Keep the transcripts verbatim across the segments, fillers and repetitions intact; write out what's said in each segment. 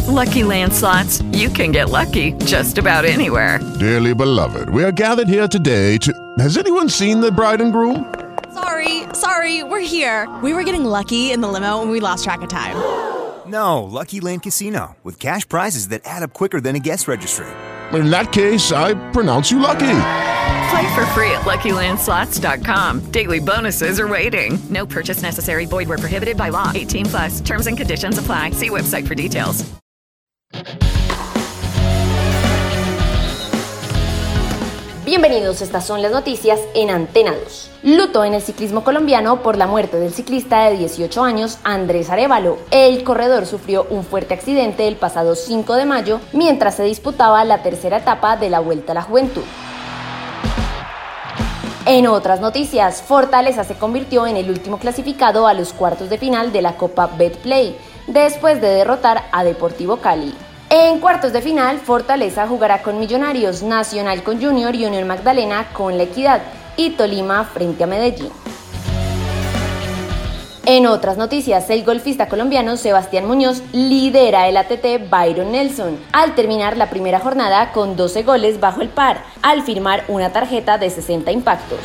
Lucky Land Slots, you can get lucky just about anywhere. Dearly beloved, we are gathered here today to... Has anyone seen the bride and groom? Sorry, sorry, we're here. We were getting lucky in the limo and we lost track of time. No, Lucky Land Casino, with cash prizes that add up quicker than a guest registry. In that case, I pronounce you lucky. Play for free at Lucky Land Slots dot com. Daily bonuses are waiting. No purchase necessary. Void where prohibited by law. eighteen plus. Terms and conditions apply. See website for details. Bienvenidos, estas son las noticias en Antena dos. Luto en el ciclismo colombiano por la muerte del ciclista de dieciocho años Andrés Arévalo. El corredor sufrió un fuerte accidente el pasado cinco de mayo mientras se disputaba la tercera etapa de la Vuelta a la Juventud. En otras noticias, Fortaleza se convirtió en el último clasificado a los cuartos de final de la Copa Betplay, después de derrotar a Deportivo Cali. En cuartos de final, Fortaleza jugará con Millonarios, Nacional con Junior y Unión Magdalena con La Equidad y Tolima frente a Medellín. En otras noticias, el golfista colombiano Sebastián Muñoz lidera el A T T Byron Nelson al terminar la primera jornada con doce goles bajo el par, al firmar una tarjeta de sesenta impactos.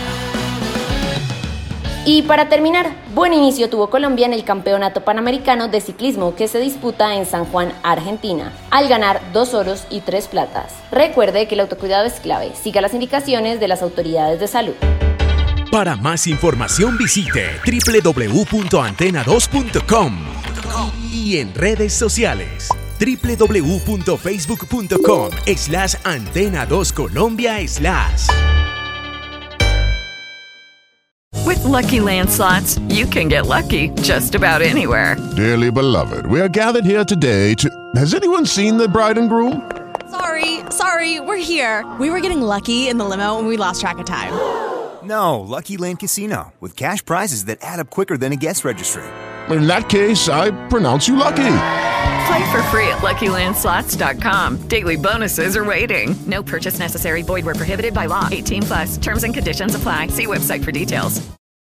Y para terminar, buen inicio tuvo Colombia en el Campeonato Panamericano de Ciclismo que se disputa en San Juan, Argentina, al ganar dos oros y tres platas. Recuerde que el autocuidado es clave. Siga las indicaciones de las autoridades de salud. Para más información visite doble u doble u doble u punto antena dos punto com y en redes sociales doble u doble u doble u punto facebook punto com slash antena dos colombia slash. With Lucky Land Slots, you can get lucky just about anywhere. Dearly beloved, we are gathered here today to... Has anyone seen the bride and groom? Sorry, sorry, we're here. We were getting lucky in the limo and we lost track of time. No, Lucky Land Casino, with cash prizes that add up quicker than a guest registry. In that case, I pronounce you lucky. Play for free at Lucky Land Slots dot com. Daily bonuses are waiting. No purchase necessary. Void where prohibited by law. eighteen plus. Terms and conditions apply. See website for details.